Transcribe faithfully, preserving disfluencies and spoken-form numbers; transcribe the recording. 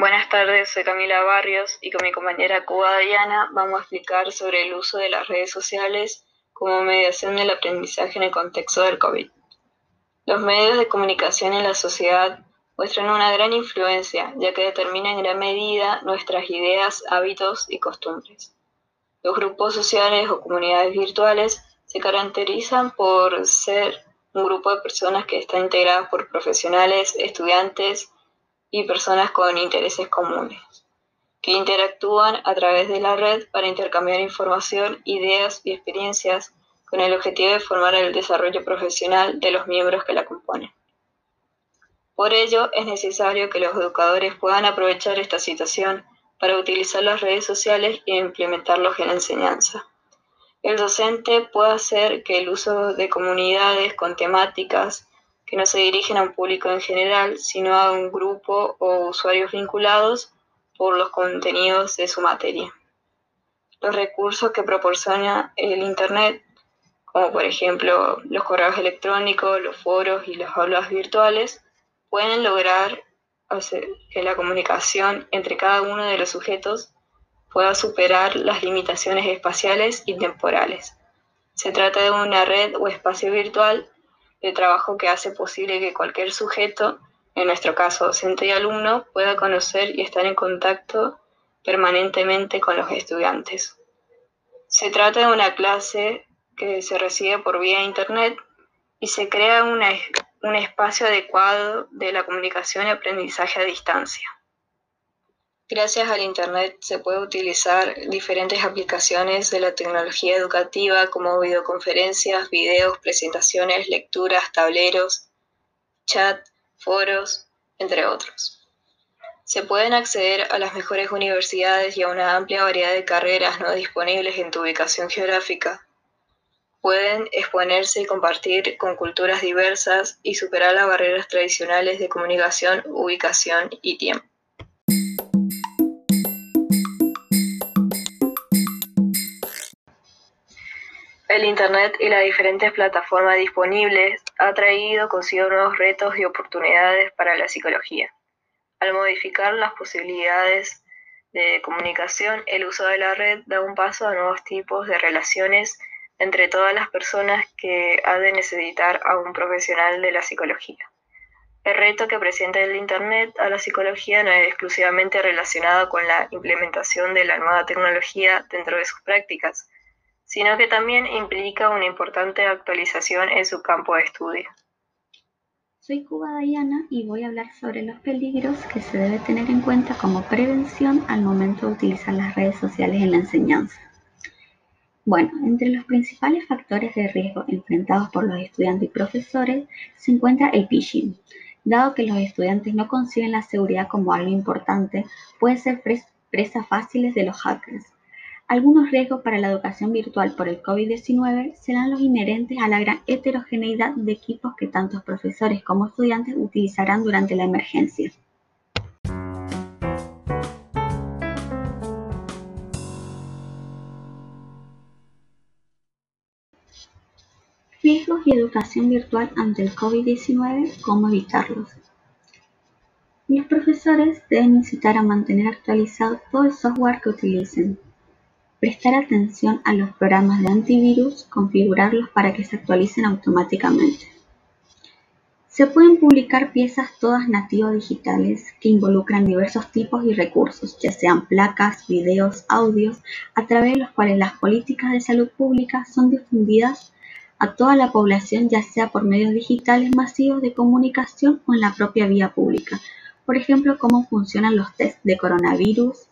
Buenas tardes, soy Camila Barrios y con mi compañera Cuba Diana vamos a explicar sobre el uso de las redes sociales como mediación del aprendizaje en el contexto del COVID. Los medios de comunicación en la sociedad muestran una gran influencia, ya que determinan en gran medida nuestras ideas, hábitos y costumbres. Los grupos sociales o comunidades virtuales se caracterizan por ser un grupo de personas que están integradas por profesionales, estudiantes y personas con intereses comunes, que interactúan a través de la red para intercambiar información, ideas y experiencias con el objetivo de formar el desarrollo profesional de los miembros que la componen. Por ello, es necesario que los educadores puedan aprovechar esta situación para utilizar las redes sociales e implementarlos en la enseñanza. El docente puede hacer que el uso de comunidades con temáticas que no se dirigen a un público en general, sino a un grupo o usuarios vinculados por los contenidos de su materia. Los recursos que proporciona el Internet, como por ejemplo los correos electrónicos, los foros y las aulas virtuales, pueden lograr hacer que la comunicación entre cada uno de los sujetos pueda superar las limitaciones espaciales y temporales. Se trata de una red o espacio virtual de trabajo que hace posible que cualquier sujeto, en nuestro caso docente y alumno, pueda conocer y estar en contacto permanentemente con los estudiantes. Se trata de una clase que se recibe por vía internet y se crea una, un espacio adecuado de la comunicación y aprendizaje a distancia. Gracias al Internet se puede utilizar diferentes aplicaciones de la tecnología educativa como videoconferencias, videos, presentaciones, lecturas, tableros, chat, foros, entre otros. Se pueden acceder a las mejores universidades y a una amplia variedad de carreras no disponibles en tu ubicación geográfica. Pueden exponerse y compartir con culturas diversas y superar las barreras tradicionales de comunicación, ubicación y tiempo. El Internet y las diferentes plataformas disponibles ha traído consigo nuevos retos y oportunidades para la psicología. Al modificar las posibilidades de comunicación, el uso de la red da un paso a nuevos tipos de relaciones entre todas las personas que han de necesitar a un profesional de la psicología. El reto que presenta el Internet a la psicología no es exclusivamente relacionado con la implementación de la nueva tecnología dentro de sus prácticas, sino que también implica una importante actualización en su campo de estudio. Soy Cuba Diana y voy a hablar sobre los peligros que se debe tener en cuenta como prevención al momento de utilizar las redes sociales en la enseñanza. Bueno, entre los principales factores de riesgo enfrentados por los estudiantes y profesores se encuentra el phishing. Dado que los estudiantes no conciben la seguridad como algo importante, pueden ser presas fáciles de los hackers. Algunos riesgos para la educación virtual por el COVID diecinueve serán los inherentes a la gran heterogeneidad de equipos que tanto profesores como estudiantes utilizarán durante la emergencia. Riesgos y educación virtual ante el COVID diecinueve, ¿cómo evitarlos? Los profesores deben incitar a mantener actualizado todo el software que utilicen. Prestar atención a los programas de antivirus, configurarlos para que se actualicen automáticamente. Se pueden publicar piezas todas nativas digitales que involucran diversos tipos y recursos, ya sean placas, videos, audios, a través de los cuales las políticas de salud pública son difundidas a toda la población, ya sea por medios digitales masivos de comunicación o en la propia vía pública. Por ejemplo, cómo funcionan los test de coronavirus,